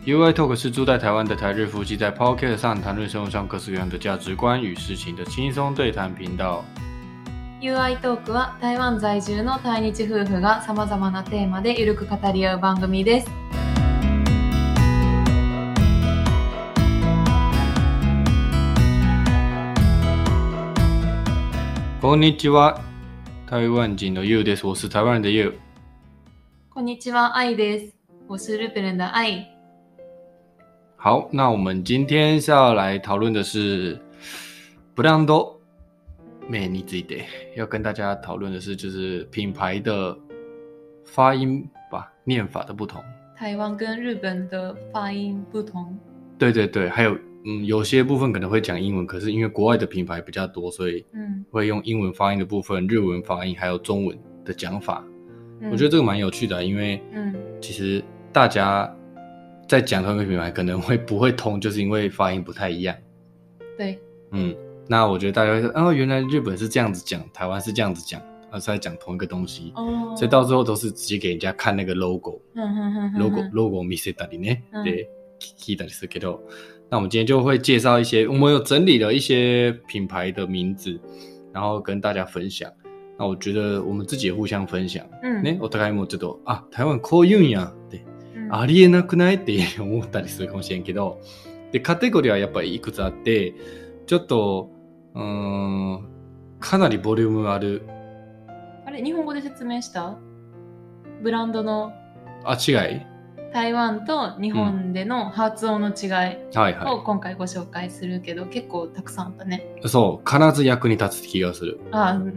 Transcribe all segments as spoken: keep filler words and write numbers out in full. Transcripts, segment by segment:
U I Talk 是住在台湾的台日夫妻在 Podcast 上谈论生活上各式各样的价值观与事情的轻松对谈频道。 ユーアイ トークは台湾在住の対日夫婦がさまざまなテーマでゆるく語り合う番組です。 こんにちは、台湾人の You です。我是台湾人的 You。 こんにちは、愛です。我是日本人的愛。 好，那我们今天是要来讨论的是ブランド名について，要跟大家讨论的是就是品牌的发音吧，念法的不同。 台湾跟日本的发音不同。 对对对，还有嗯，有些部分可能会讲英文，可是因为国外的品牌比较多，所以会用英文发音的部分、日文发音还有中文的讲法。嗯、我觉得这个蛮有趣的，因为其实大家在讲同一个品牌可能会不会通，就是因为发音不太一样。 对， 嗯，那我觉得大家会说，哦，原来日本是这样子讲，台湾是这样子讲，而是在讲同一个东西。哦，所以到最后都是直接给人家看那个 logo，logo logo 見せたりね、で聞いたりするけど。那我们今天就会介绍一些，我们有整理了一些品牌的名字，然后跟大家分享。那我觉得我们自己也互相分享。嗯，ね、お互いもちょっとあ、台湾こう言うんやって、うん、ありえなくないって思ったりするかもしれんけど、でカテゴリーはやっぱりいくつあって、ちょっとうーんかなりボリュームある。 あれ日本語で説明した？ブランドのあ違い？ 台湾と日本での発音の違いを今回ご紹介するけど、うんはいはい、結構たくさんあったね。 そう、必ず役に立つ気がする。 あ、うん、うん、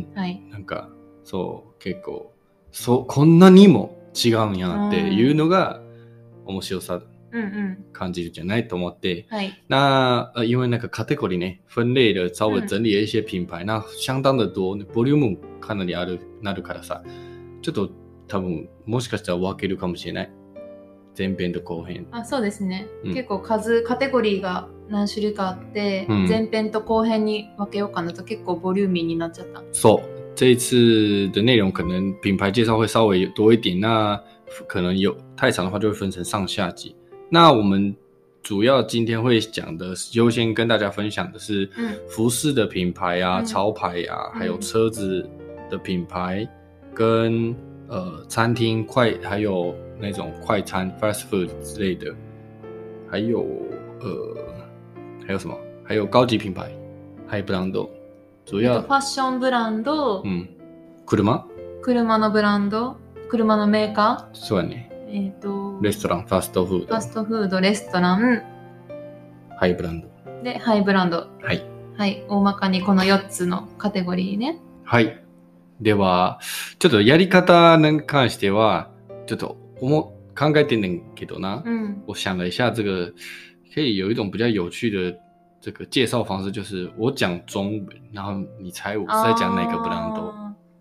はい。 なんかそう結構そうこんなにも違うんやなっていうのが面白さ感じるじゃないと思って。 はい。 那呃因为那个 category 呢分类了稍微整理了一些品牌，嗯、那相当的多，ボリュームかなりあるなるからさ、ちょっと多分もしかしたら分けるかもしれない。前編と後編。 あ、そうですね、うん、結構数カテゴリーが何種類かあって、うん、前編と後編に分けようかなと結構ボリューミーになっちゃった。 そう这一次的内容可能品牌介绍会稍微多一点，那可能有太长的话就会分成上下集。那我们主要今天会讲的优先跟大家分享的是服饰的品牌啊、嗯、潮牌啊、嗯、还有车子的品牌跟呃餐厅快还有那种快餐 fast food 之类的，还有呃还有什么？还有高级品牌，还有ブランド。主要ファッションブランド、 うん、車？ 車のブランド、車のメーカー。 そうやね。 えっとレストラン、ファストフード。 ファストフード、レストラン。 ハイブランド。 で、ハイブランド。 はい。 はい、大まかにこのよっつのカテゴリーね。 はい。では、ちょっとやり方に関しては、ちょっと我考えてんねんけどな、嗯，我想了一下，这个可以有一种比较有趣的这个介绍方式，就是我讲中文，然后你猜我是在讲哪个ブランド。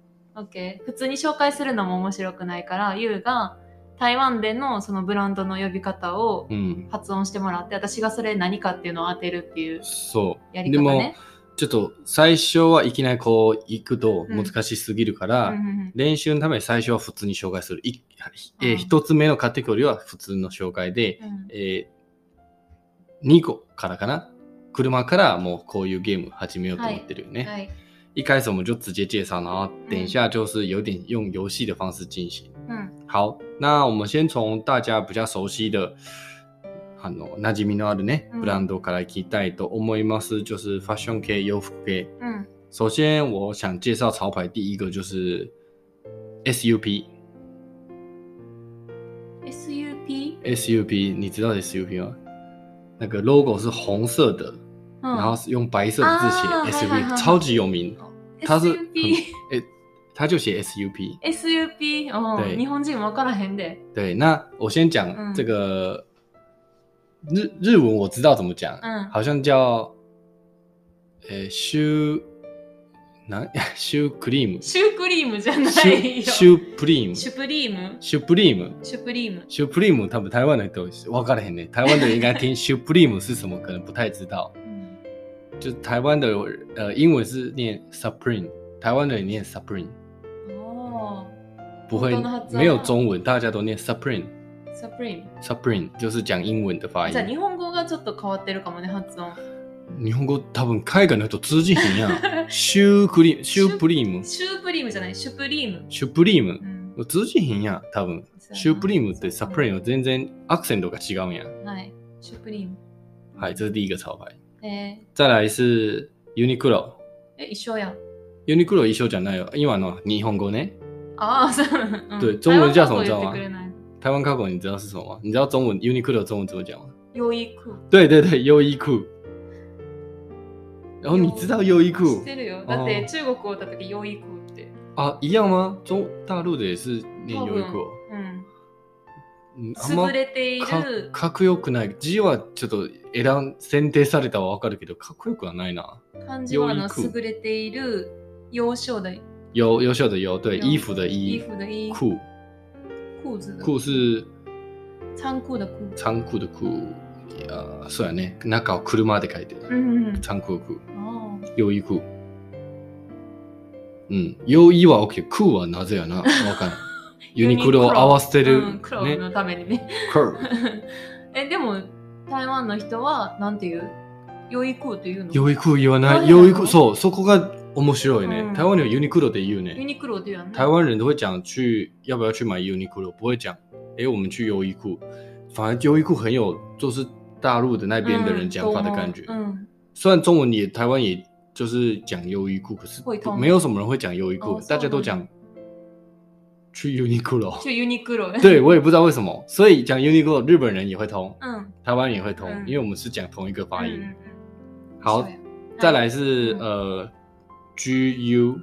OK、普通に紹介するのも面白くないから、ユウが台湾でのそのブランドの呼び方を発音してもらって、うん、私がそれ何かっていうのを当てるっていうやり方ね。 ちょっと最初はいきなりこう行くと難しすぎるから、うん、練習のために最初は普通に紹介する。いえー、一つ目のカテゴリーは普通の紹介で、うん、えー、にこからかな。車からもうこういうゲーム始めようと思ってるよね。はいはい、一开始我们就直接介绍，然后等一下就是有点用游戏的方式进行。嗯，好，那我们先从大家比较熟悉的。あの馴染みのあるね、ブランドからいきたいと思います。就是ファッション系、洋服系。嗯，首先我想介绍潮牌，第一个就是 S U P。S U P？S U P， 你知道 S U P 吗？那个 logo 是红色的，嗯、然后是用白色的字写 S U P，、啊、超级有名。它是 S U P， 诶，它就写 S U P。S U P， 哦，对，日本人分からへんで。 对，那我先讲这个。嗯日日文我知道怎么讲，嗯，好像叫，呃，シュなシュクリーム。 シュクリームじゃないよ。 シュプリーム。 シュプリーム。 シュプリーム。 シュプリーム。 シュプリーム，他们台湾的都分からへんね。台湾的人应该听シュプリーム是什么，可能不太知道。嗯，就是台湾的呃英文是念 Supreme， 台湾的人念 Supreme。哦，不会，没有中文，大家都念 Supreme。 Supreme Supreme 就是講英文的發音。 じゃあ日本語がちょっと変わってるかもね、発音。 日本語多分海外の人通じひんやん。シュークリーム、シュープリーム。 シュープリームじゃない、シュプリーム。 シュプリーム。 うん、 通じひんやん、多分。シュープリームってサプリーム全然アクセントが違うんやん。 はい。シュープリーム。 はい、这是第一个潮牌。 えー、 再来是 Uniqlo。 え、一緒やん。 Uniqlo 一緒じゃないよ。今の日本語ね。 啊，嗯、 对，中文叫什么知道吗？台湾卡狗你知道是什么吗？你知道中文 Uniqlo 中文怎么讲吗？ 优衣库。 对对对，优衣库。然后你知道優衣庫？ 知ってるよ。だって中国おった時優衣庫って。 あ、一样吗？中大陸で也是念優衣庫。 うん。優れている。 か, かっこよくない。字はちょっと選ん選定されたはわかるけど、かっこよくはないな。 漢字はあの優れている優秀的優優秀的優，对，衣服的衣， 衣服的衣， 裤， 裤子的裤是仓庫的庫， 仓庫的庫。いや、そうやね。中を車で書いてる。 うんうん、 倉庫庫。優衣庫。うん。優衣は OK。空はなぜやな。わかんない。ユニクロを合わせてる。 うん、黒のためにね。え、でも、台湾の人は、なんて言う？優衣庫って言うの？ 優衣庫言わない。優衣庫、そう、そこが面白いね。嗯、台湾人有 Uniqlo 的言うね。 Uniqlo 的言うね。 台湾人都会讲去要不要去买 Uniqlo， 不会讲，哎，我们去优衣库。反而优衣库很有，就是大陆的那边的人讲法的感觉。嗯，嗯虽然中文也台湾也就是讲优衣库，可是没有什么人会讲优衣库，大家都讲去 Uniqlo。去 Uniqlo。 对，我也不知道为什么，所以讲 Uniqlo 日本人也会通，嗯，台湾人也会通， 嗯、 因为我们是讲同一个发音。嗯、好，再来是、嗯、呃 G U。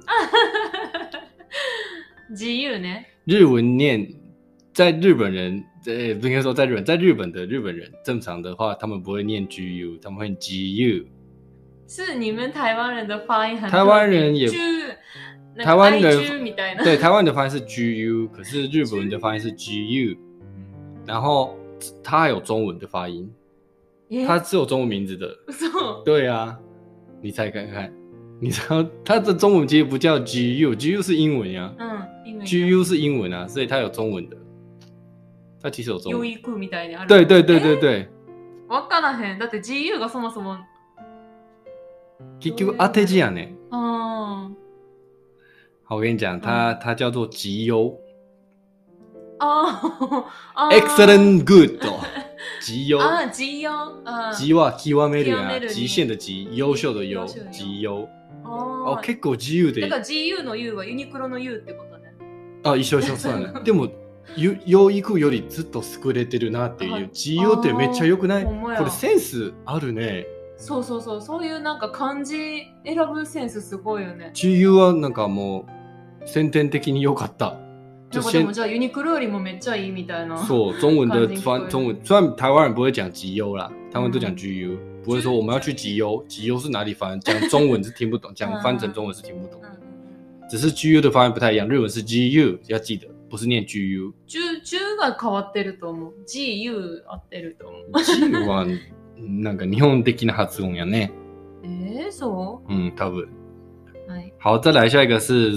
G U 呢？ 日文念，在日本人。呃，不应该说在日本，在日本的日本人正常的话，他们不会念 G U， 他们会 G U。 是你们台湾人的发音很台湾人也，台湾的对台湾的发音是 G U， 可是日本人的发音是 G U。然后它还有中文的发音，它是有中文名字的。对啊，你猜看看，你知道它的中文其实不叫 G U，G U 是英文呀、啊，嗯，英文 G U 是英文啊，所以它有中文的。它其实有中文。優衣庫みたいにある。对对对对对。 わからへん。だって G U がそもそも。 結局当て字やね。嗯。好，我跟你讲，它、嗯、它叫做极優。 哦。 Excellent good。極優。 啊，極優。 極は極めるや。極限的極、優秀的優。極優。哦。結構自由で。 だから G U の U はユニクロの U ってことね。 あ、一緒一緒そうやね。でも。優衣庫よりずっと優れてるなっていう ジーオー ってめっちゃ良くない？これセンスあるね。 そうそうそう、そういうなんか漢字選ぶセンスすごいよね。 ジーユー はなんかもう先天的に良かった。 なんかでもじゃあユニクロよりもめっちゃいいみたいな。 そう、中文的翻中文，虽然台湾人不会讲吉優啦，台湾都讲 G U，、嗯、不会说我们要去吉優，吉優是哪里翻？讲中文是听不懂，讲翻成中文是听不懂的。只是 G U 的发音不太一样，日文是 G U， 要记得。不是念 G U。 じゅうが変わってると思う。G U 合ってると思う。 G U はなんか日本的な発音やね。 えー、そう？ 嗯，多分。 はい。 好，再来下一个是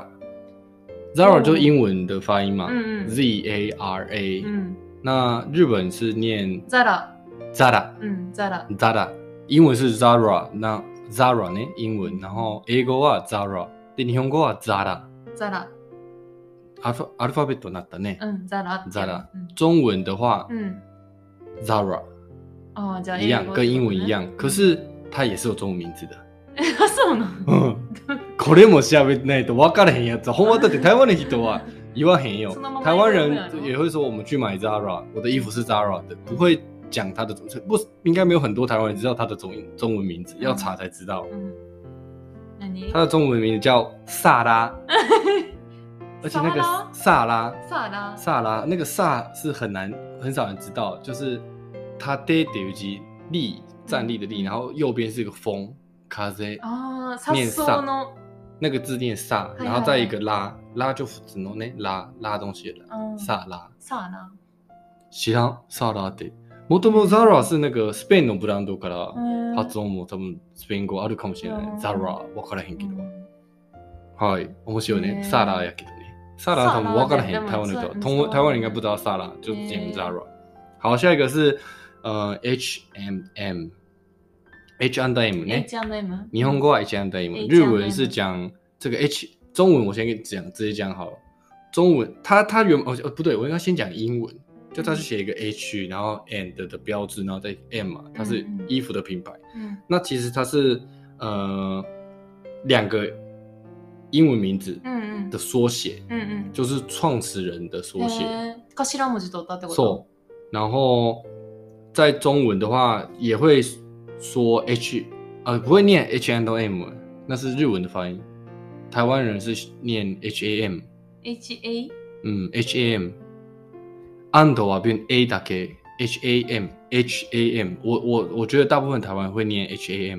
Zara。Zara 就英文的发音嘛，嗯嗯 ，Z A R A。嗯。那日本是念 Zara。Zara。嗯 ，Zara。Zara。英文是 Zara， 那 Zara 呢？英文，然后英語は Zara， で日本語は Zara。Zara。アルファ、アルファベットになったね。 嗯 ，Zara。 Zara。中文的话，嗯 ，Zara。 哦，じゃあ一样，跟英文一样，可是它也是有中文名字的。 え、そうなの？これも調べないと分からへんやつ。ほんまだって台湾的人は言わへんよ。台湾人也会说我们去买 Zara， 我的衣服是 Zara 的，不会讲它的中，不应该没有很多台湾人知道它的中中文名字，要查才知道。嗯，它的中文名字叫萨拉。而且那个萨拉， 萨拉， 萨拉，那个萨是很难，很少人知道，就是它でっていう字，立，站立的立，然后右边是一个风，風， 啊， 念萨，那个字念萨，然后再一个拉，拉就只能呢拉拉东西的拉，萨拉， 萨拉， 知らん、萨拉って。もともと Zara 是那个スペインのブランドから発音も多分スペイン語あるかもしれない。Zara 分からへんけど。はい、面白いね。サラやけどね。 萨拉他们分からへん台湾的台台湾人应该不知道萨拉，就讲 Zara。好，下一个是呃 H and M。H and M ね。 H and M。 日本語は H and M， 日文是讲这个 H， 中文我先给你讲，直接讲好了。中文它它原哦不对，我应该先讲英文，就它是写一个 H， 然后 and 的标志，然后再 M 嘛，它是衣服的品牌。嗯，那其实它是呃两个英文名字的缩写，嗯嗯，就是创始人的缩写。 頭文字取ったってこと？ そう。然后在中文的话也会说 H， 呃，不会念 H and M， 那是日文的发音。台湾人是念 H A M。H A？ 嗯 ，H A M。and は变 A だけ ，H A M，H A M。我我我觉得大部分台湾人会念 H A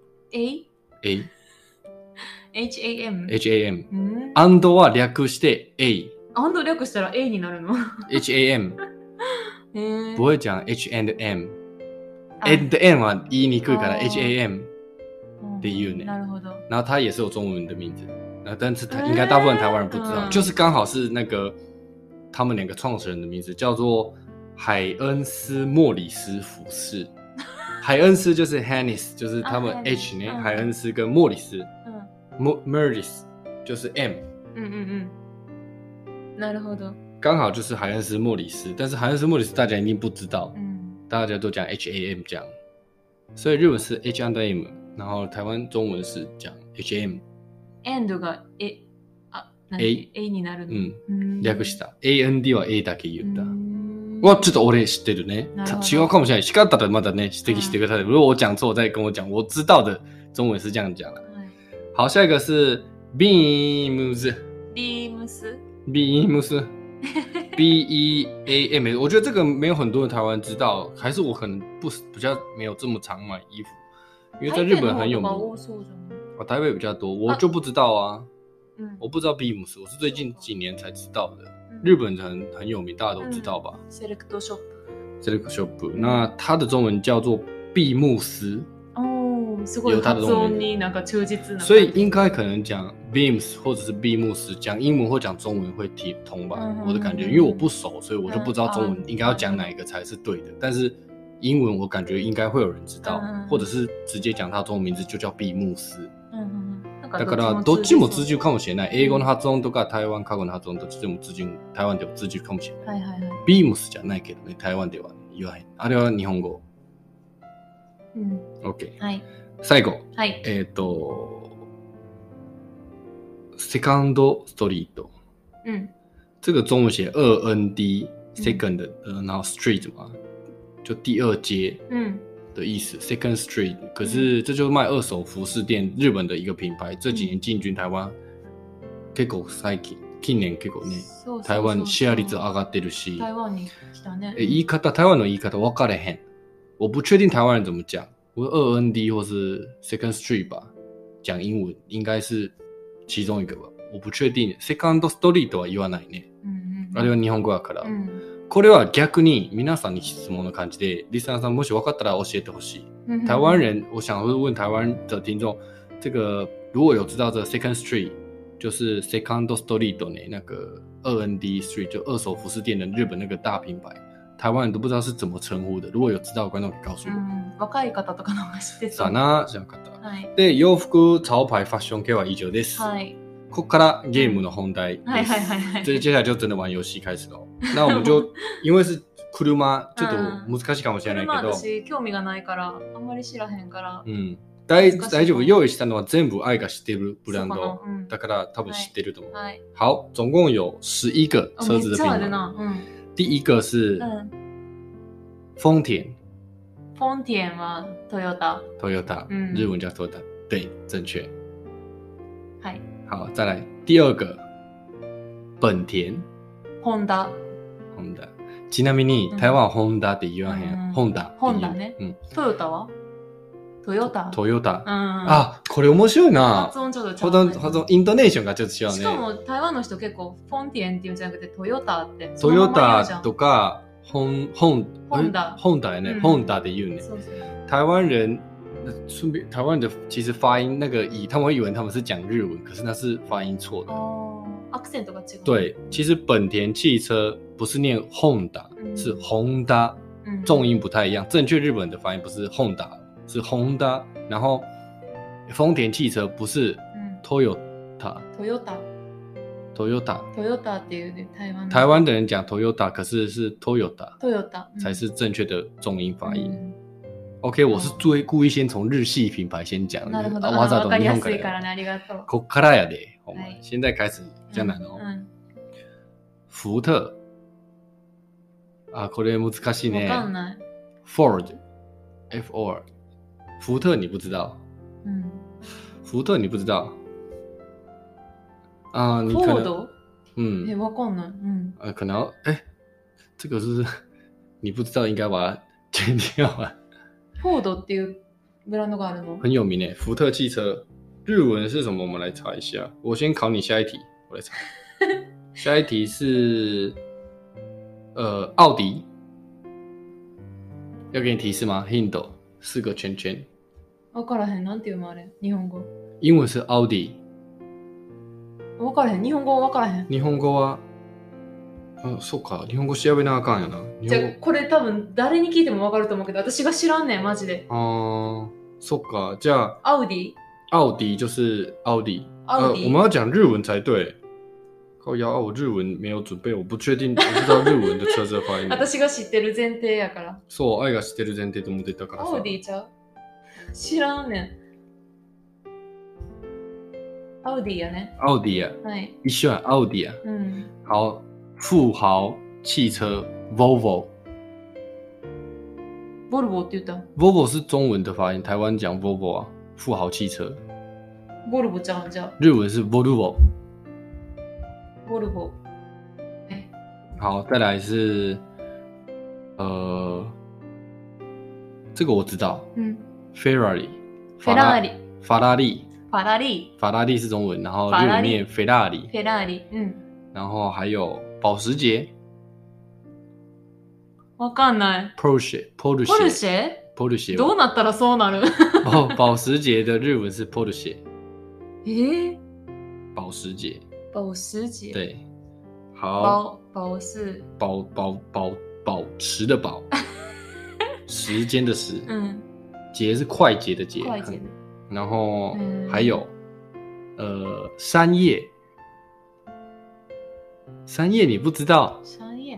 M。A？A。H A M。H A M。うん。and は略して A。and 略したら A になるの ？H A M。不会讲 H and M。and M は言いにくいから H A M って言うね。 なるほど。 然后它也是有中文的名字，但是应该大部分台湾人不知道，就是刚好是那个他们两个创始人的名字，叫做海恩斯莫里斯服饰。海恩斯就是 Hennis， 就是他们 H 呢，海恩斯跟莫里斯，嗯 ，Merlis 就是 M。 嗯嗯嗯。なるほど。 刚好就是海恩斯莫里斯，但是海恩斯莫里斯大家一定不知道，嗯，大家都讲 H A M 这样，所以日文是 H and M， 然后台湾中文是讲 H A M。and が A あ A A になるの。 うん。略した。A N D は A だけ言った。わ、ちょっと俺知ってるね。違うかもしれない。叱ったらまだね指摘してください。如果我讲错，再跟我讲。我知道的中文是这样讲的。好，下一个是 Beams。Beams。Beams。B E A M， 我觉得这个没有很多人台湾知道，还是我可能不比较没有这么常买衣服，因为在日本很有名。哦，台北比较多，我就不知道啊。嗯，我不知道 Beams， 我是最近几年才知道的。嗯、日本很很有名，大家都知道吧？ Select Shop。Select Shop， 那它的中文叫做闭幕斯。 すごい発音になんか忠実な。 所以应该可能讲 Beams 或者是闭幕斯，讲英文或讲中文会听通吧、嗯、我的感觉，因为我不熟，所以我就不知道中文应该要讲哪一个才是对的、嗯、但是英文我感觉应该会有人知道、嗯、或者是直接讲它中文名字就叫闭幕斯、嗯、だからどっちも通じるかもしれない。英語の発音とか台湾過去の発音どっちでも通じる、台湾でも通じるかもしれない、はいはいはい、Beams じゃないけどね、台湾では言わへん。あれは日本語。うん、OK、はい、最後、はい、えっ、ー、とセカンドストリート、嗯，这个中文写二 N D second、嗯呃、然后 street 嘛，就第二街的意思、嗯、second street。可是这就是卖二手服饰店，日本的一个品牌，这几年进军台湾、結構最近近年結構ね、台湾シェア率上がってるし、 台湾に来たね。 言い方、台湾の言い方分かれへん。我不确定台湾人怎么讲，我二 N D 或是 second street 吧，讲英文应该是其中一个吧，我不确定。セカンドストリートは言わないね。うんうん、あれは日本語だから、うん。これは逆に皆さんに質問の感じで、リスナーさんもし分かったら教えてほしい。嗯、台湾人，我想会问台湾的听众，这个如果有知道这 second street， 就是 second street 呢，那个二 N D street 就二手服饰店的日本那个大品牌。台湾人都不知道是怎么称呼的，如果有知道的观众可以告诉我。 嗯、若い方とかの方が知ってそう。 さあな、知らなかった。はい。で、洋服、潮牌、ファッション系は以上です。はい。ここからゲームの本題です。はいはいはいはい。这接下来就真的玩遊戲開始了。那我们就因为是車、ちょっと難しいかもしれないけど。 車私興味がないからあんまり知らへんから。 うん。大大丈夫。用意したのは全部愛が知ってるブランド、うん、だから多分知ってると思う。はい。好，总共有十一个车子的品牌。嗯。第一个是丰田。 丰田はトヨタ。 トヨタ、嗯、日文叫トヨタ，对，正确。 はい。 好，再来第二个本田。 ホンダ。 ホンダ。ちなみに台湾はホンダって言わへん。ホンダ。 ホンダね。うん。トヨタは？トヨタ。 トヨタ。うん。あ、これ面白いな。 発音ちょっと違う、ね。 発音、イントネーションがちょっと違うね。 しかも台湾の人結構フォンティエンって言うんじゃなくてトヨタって。 トヨタとかホン、ホン、 ホンダ。 ホンダやね。ホンダで言うね。そうそう。台湾人顺便台湾的其实发音那个以他们会以为他们是讲日文，可是那是发音错的。哦。 accent が違う。 对，其实本田汽车不是念 Honda，、嗯、是 Honda，、嗯、重音不太一样。正确日本的发音不是 Honda， 是 Honda。然后丰田汽车不是 Toyota。Toyota。Toyota。Toyota っていうね、台湾。 台湾的人讲 Toyota， 可是是 Toyota。Toyota、嗯、 才是正确的重音发音。嗯、OK， 我是注意故意先从日系品牌先讲。 なるほど。 わざと日本から。わかりやすいからね、ありがとう。 こっからやで。お前、はい、现在开始比较难哦。嗯嗯、福特。啊、これ難しいね。 わかんない。 Ford。F O R。福特你不知道。嗯。福特你不知道。啊，你可能。嗯。 え、わかんない。嗯。 呃，可能哎，这个是你不知道，应该把它剪掉啊。 Ford っていうブランドがあるの？ 很有名诶，福特汽车。日文是什么？我们来查一下。我先考你下一题，我来查。下一题是呃奥迪。要给你提示吗 ？Hint， 四个圈圈。 わからへん、なんていうのあれ？日本語。 英文是奥迪。 わからへん。日本語わからへん。 日本語は、あ、そうか。日本語調べなあかんやな。 じゃあこれ多分誰に聞いてもわかると思うけど、私が知らんねんマジで。 あー、そっか。じゃあ。 奥迪。 奥迪就是奥迪。 奥迪。 呃，我们要讲日文才对。靠腰，我日文没有准备，我不确定，我不知道日文的车子发音。 私が知ってる前提やから。 そう、愛が知ってる前提と思ってたからさ。 奥迪ちゃう？知らんねん。奥迪呀ね。 奥迪呀。 はい。 一緒や、奥迪呀。 嗯。 好，富豪汽车 Volvo。 Volvo って言った。 Volvo 是中文的发音，台湾讲 Volvo 啊，富豪汽车。 Volvo ちゃうんじゃ。 日文是 Volvo。 Volvo。 好，再来是呃，这个我知道。嗯。Ferrari。 Ferrari。 法拉利。 法拉利。 法拉利是中文，然后日文念 Ferrari。 Ferrari。嗯。 然后还有保时捷。 わかんない。 Porsche。Porsche。 Porsche。 Porsche。 どうなったらそうなる？ 保保时捷的日文是 Porsche。 诶？ 保时捷。 保时捷。 对。好。 保保是保保保保持的保，时间的时。嗯。捷是快捷的捷。 快捷的。 然后还有、嗯、呃山叶。山叶你不知道？ 山叶。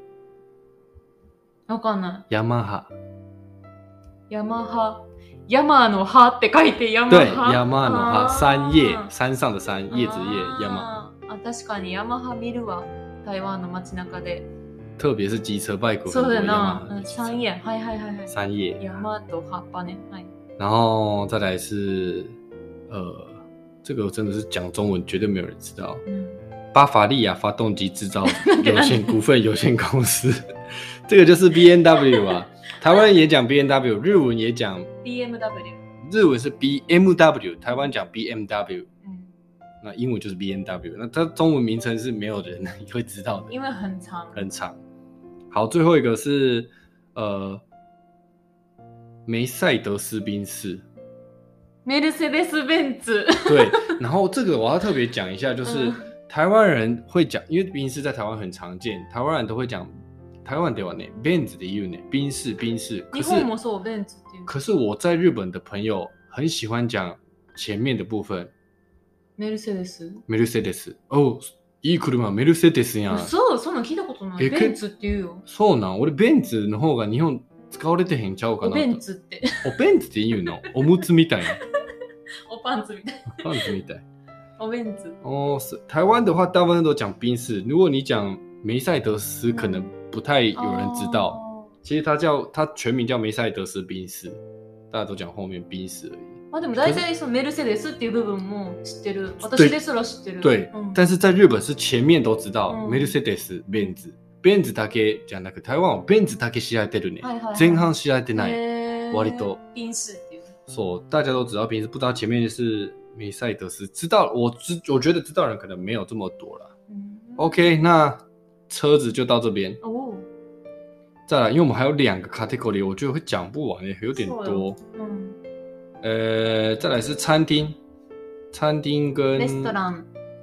わかんない。 ヤマハ。 ヤマハ。山の葉って書いてヤマハ。 对，ヤマの葉。山叶，山上的山，叶子叶，ヤマ。 あ、確かにヤマハ見るわ。台湾の街中で。 特別是機車バイク。 そうだな。山叶，はいはいはいはい。 山叶。 山と葉っぱね。はい。 然后再来是，呃，这个真的是讲中文绝对没有人知道。嗯。巴伐利亚发动机制造有限股份有限公司，这个就是 B M W 啊。台湾人也讲 B M W， 日文也讲 B M W， 日文是 B M W， 台湾讲 B M W， 嗯，那英文就是 B M W， 那它中文名称是没有人会知道的， 因为很长， 很长。好，最后一个是呃梅赛德斯宾士。 梅赛德斯宾士。 对，然后这个我要特别讲一下，就是。嗯，台湾人会讲，因为宾士在台湾很常见，台湾人都会讲台湾ではね、ベンツで言うね、宾士宾士。 日本もそう、ベンツっていう。 可是我在日本的朋友很喜欢讲前面的部分。 メルセデス。 メルセデス。哦、いい車メルセデスやん。 そう、そんなん聞いたことない。ベンツって言うよ。 そうなん、俺ベンツの方が日本使われてへんちゃうかなと。 おベンツって。 おベンツって言うの？おむつみたいな。 おパンツみたい。 パンツみたい。 おベンツ哦，台湾的话，大部分都讲宾士。如果你讲梅赛德斯，可能不太有人知道。嗯、其实它叫它全名叫梅赛德斯宾士，大家都讲后面宾士而已。 啊，でも大体そのメルセデスっていう部分も知ってる。私ですら知ってる。 对，嗯、但是在日本是前面都知道、嗯、メルセデス、ベンツ、ベンツだけじゃなく台湾はベンツだけ知られてるね。はいはいはい、前半知られてない。割と。 賓士っていう。 そう、大家都知道宾士，不知道前面是。梅赛德斯知道，我知我觉得知道人可能没有这么多啦。嗯、OK， 那车子就到这边。哦。再来，因为我们还有两个 category， 我觉得会讲不完耶，有点多。嗯。呃，再来是餐厅，餐厅跟 restaurant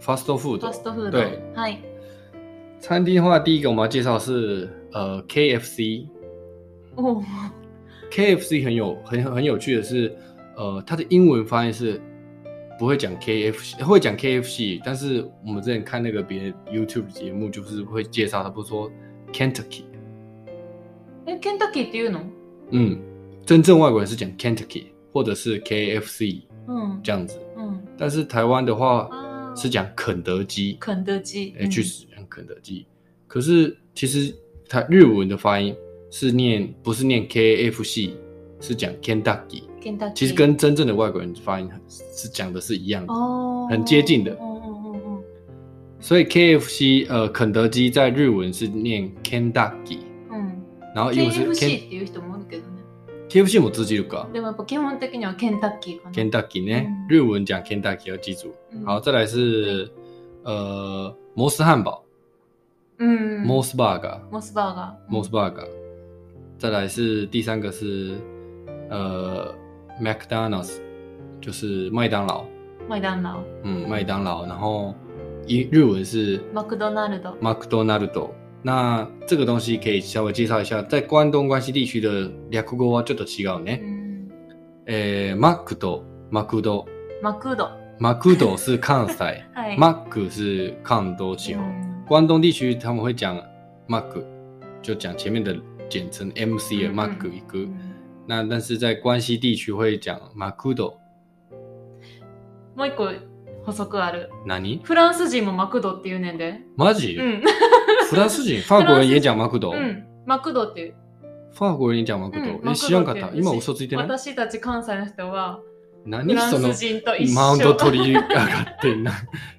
fast food。 fast food。 对， はい。 餐厅的话，第一个我们要介绍是呃 K F C。 哦。 K F C 很有很很有趣的是，呃，它的英文发音是不会讲 K F C， 会讲 K F C， 但是我们之前看那个别的 YouTube 节目，就是会介绍它，不是说 Kentucky。 え、Kentucky っていうの？ 嗯，真正外国人是讲 Kentucky 或者是 K F C， 嗯，这样子。嗯，但是台湾的话是讲肯德基。 肯德基， 哎，确实讲肯德基。可是其实它日文的发音是念不是念 K F C， 是讲 Kentucky。Kentucky 其实跟真正的外国人发音是讲的是一样的，哦，很接近的。哦哦哦哦。所以 K F C 呃肯德基在日文是念 Kentucky。嗯。然后英文是 K F C っていう人もいるけどね。 K F C も通じるか。 でもやっぱ基本的には Kentucky かな。 Kentucky 呢，嗯，日文讲 Kentucky 要记住。嗯，好，再来是呃摩斯汉堡。嗯。摩斯 burger。 摩斯 burger。 摩斯 burger。再来是第三个是呃 McDonald's， 就是麦当劳。 麦当劳。 嗯，麦当劳。然后日文是マクドナルド。 マクドナルド。那这个东西可以稍微介绍一下，在关东关西地区的略語はちょっと違うね。嗯，诶，マクド、マクド、 マクド、 マクド是関西，マク是関東地方。关东地区他们会讲マク，就讲前面的简称 M C 的マク一个。那但是在关西地区会讲マクド。 もう一個補足ある。 何？ フランス人もマクドって言うねんで。 マジ？うん。フランス人、法国人也讲マクド。 うん、マクドっていう。 法国人也讲マクド。え、知らんかった。今嘘ついてない？ 私たち関西の人は、 何そのマウント取り上がってんな。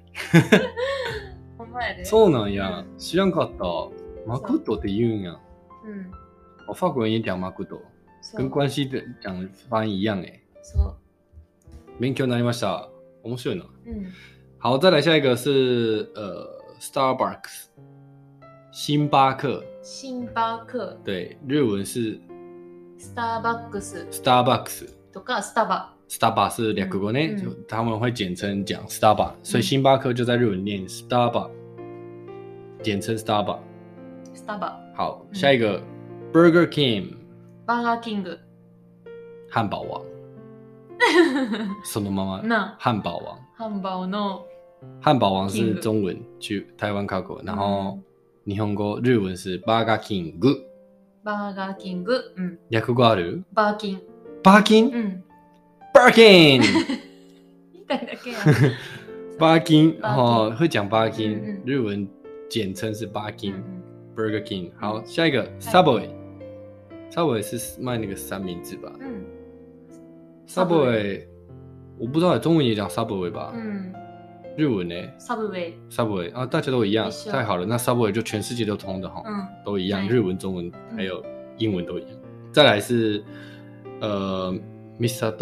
ほんまやで。 そうなんや。知らんかった。マクドって言うんや。嗯。法国人也讲マクド。跟关西的讲发音一样哎。 そう。 勉強になりました。面白いな。嗯。好，再来下一个是呃 Starbucks。星巴克。 星巴克。 对，日文是 Starbucks。 Starbucks。 とか Starbucks。Starbucks 是略語ね、嗯，就他们会简称讲 Starbucks，、嗯、所以星巴克就在日文念 Starbucks，、嗯、简称 Starbucks。Starbucks。好，下一个、嗯、Burger King。Burger King。 汉堡王。そのまま。汉堡王。 汉堡の。 汉堡王是中文，去台湾考过，然后。嗯日本語、日文是バーガーキング。 バーガーキング。うん。 略語ある？ バーキン。 バーキン？ うん。 バーキン。 言いたいだけや。 バーキン。哦，会讲バーキン。嗯、日文简称是バーキン。嗯、Burger King。好，下一个 Subway。Subway 是卖那个三明治吧？嗯。Subway， 我不知道，中文也讲 Subway 吧？嗯。日文呢 ？Subway。 Subway 啊，大家都一样，太好了。那 Subway 就全世界都通的哈，嗯，都一样，日文、中文还有英文都一样。再来是呃 ，Mister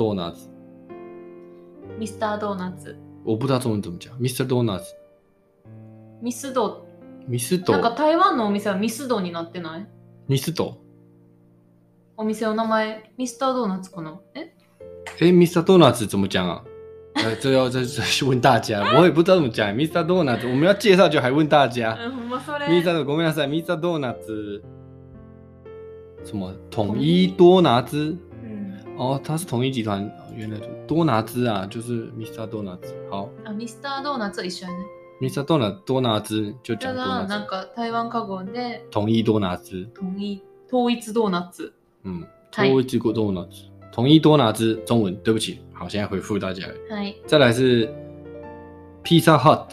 Donuts。Mister Donuts。 我不知道中文怎么讲 ，Mister Donuts。 ミスド。 ミスド。 なんか台湾のお店はミスドになってない？ ミスド。 お店の名前ミスタードーナツかな？え？ え、Mister Donuts 怎么讲啊？呃，这要这这问大家，我也不知道怎么讲。Mister Donuts， 我们要介绍就还问大家。Mister ごめんなさい ，Mister Donuts， 什么统一多拿滋？嗯，哦，它是统一集团，原来多拿滋啊，就是 Mister Donuts。好。 啊 ，Mister Donuts 一緒ね。 Mister Donuts 多拿滋就讲多拿滋。 なんか台湾カゴで统一多拿滋。 統一統一ドーナツ。 嗯，統一ドーナツ。统一多拿滋，中文对不起，好，现在回复大家。再来是 Pizza Hut。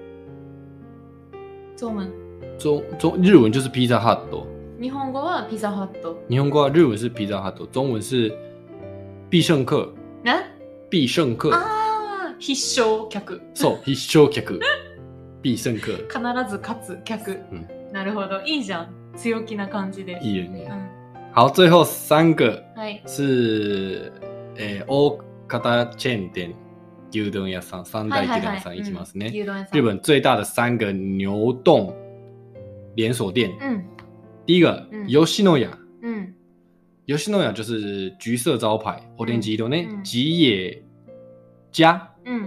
中文。 中中日文就是 Pizza Hut。 日本語は Pizza Hut。 日本語は日文是 Pizza Hut， 中文是必胜客。 ね？ 必胜客。 ああ、必勝客。 そう、必勝客。必勝客。 必ず勝つ客。うん。なるほど、いいじゃん。強気な感じで。 いいよね。うん。好，最后三个是诶大型チェーン店牛丼屋さん、三大牛丼屋さんいきますね。日本最大的三个牛丼连锁店。嗯，第一个吉野家。嗯，吉野家就是橘色招牌，オレンジ色ね。吉野家。嗯，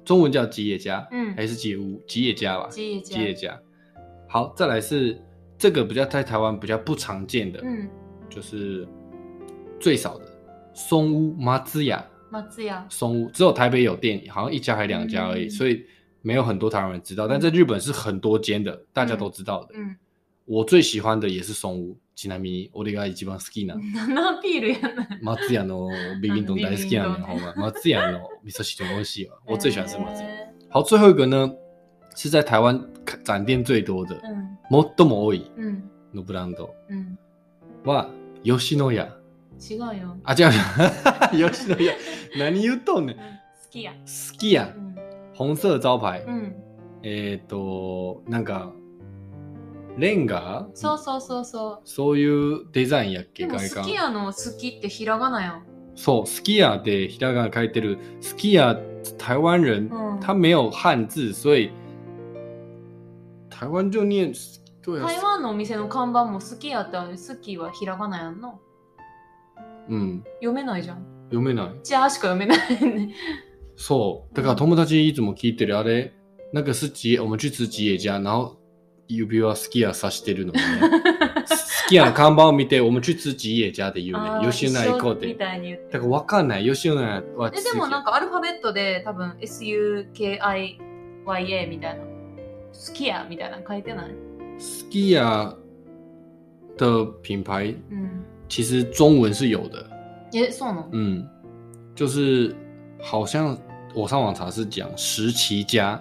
中文叫吉野家， 嗯， 还是吉野屋？吉野家吧， 吉野家。 吉野家。好，再来是这个比较在台湾比较不常见的， 嗯， 就是最少的松屋松屋。 松屋。 松屋只有台北有店，好像一家还两家而已，嗯、所以没有很多台湾人知道。但在日本是很多间的，嗯、大家都知道的。 嗯， 我最喜欢的也是松屋。ちなみに俺が一番好きな。 何のアピールやねん。 松屋のビビン丼大好きやねん，好吗？松屋の味噌汁很美味しいわ。我最喜欢吃松屋。好，最后一个呢，是在台湾展店最多的， 嗯， 最も多いのブランドは吉野家。 違うよ。 あ、違う。吉野家。何言っとんねん。 好きや。 好きや。紅色招牌。 うん、 えっと、なんか、レンガ？ そうそうそうそう。 そういうデザインやっけ？ でも好きやの好きってひらがなやん。 そう、好きやでひらがな書いてる。好きや台湾人、嗯、他没有汉字，所以台湾就念对啊。 台湾のお店の看板も好きやって好きはひらがなやんの。 うん。 読めないじゃん。 読めない。 じゃあしか読めないね。 そう。だから友達いつも聞いてるあれ、なんか是吉野，我们去吃吉野家，然後指は好きやさしてるのね。好きやの看板を見て、我们去吃吉野家で言うね。吉野家行こうって。 みたいに言って。 だからわかんない。吉野家はえ、でもなんかアルファベットで多分 エスユーケーアイワイエー みたいな。好きやみたいなの書いてない？ 好きや的品牌， 嗯， 其实中文是有的。 え、そうなの？ 嗯，就是好像我上网查是讲十旗家。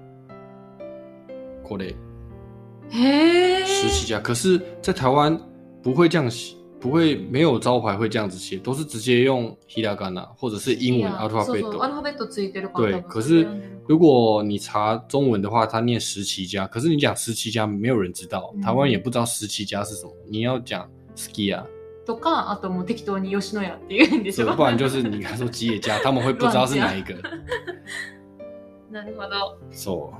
これ。 嘿， 十七家，可是，在台湾不会这样写，不会没有招牌会这样子写，都是直接用ひらがな或者是英文 alphabet。 アルファベットついてるから。 对，可是如果你查中文的话，它念十七家，可是你讲十七家，没有人知道，台湾也不知道十七家是什么。你要讲好きや。 とか、あともう適当に吉野家って言うんでしょ。 不然就是你刚说吉野家，他们会不知道是哪一个。 なるほど。 そう。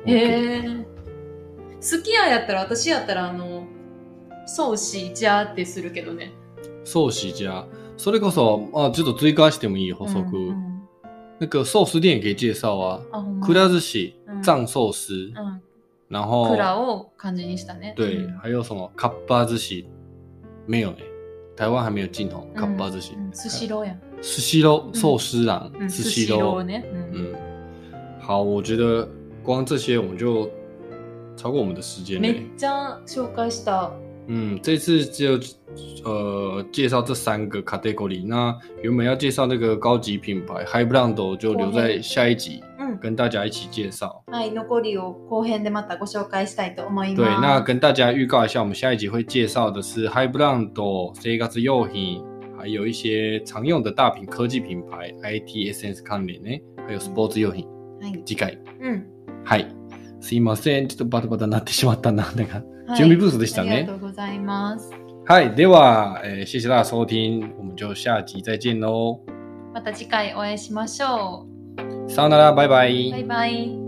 へー。好きややったら私やったらあの寿司じゃってするけどね。 寿司家，それこそ啊，ちょっと追加してもいい補足。嗯嗯、那个寿司店也可以介绍啊。啊くら寿司、藏寿司，嗯，然后くらを漢字にしたね。 对，嗯、还有什么かっぱ寿司？没有呢，台湾还没有进口かっぱ寿司。 スシローや。 スシロー寿司郎， スシローね。 嗯，好，我觉得光这些我们就。超过我们的时间めっちゃ紹介した。 嗯，这次就呃介绍这三个 category。那原本要介绍那个高级品牌 High Brand 就留在下一集，嗯，跟大家一起介绍。 はい、残りを後編でまたご紹介したいと思います。 对，那跟大家预告一下，我们下一集会介绍的是 High Brand 生活用品，还有一些常用的大品科技品牌 I Tエスエヌエス 関連ね，还有スポーツ用品。はい。次回。うん。はい。すいません。ちょっとバタバタなってしまったな。なんか、準備不足でしたね。 ありがとうございます。 はい。では、えー、謝謝大家收聽。我們就下集再見嘍。 また次回お会いしましょう。さよなら。バイバイ。 バイバイ。